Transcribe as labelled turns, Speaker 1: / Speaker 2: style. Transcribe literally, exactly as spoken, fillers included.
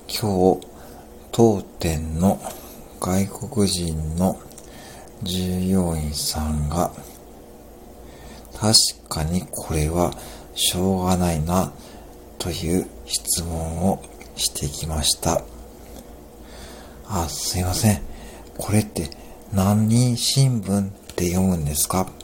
Speaker 1: 今日、当店の外国人の従業員さんが、確かにこれはしょうがないな、という質問をしてきました。あ、すいません。これって何人新聞って読むんですか？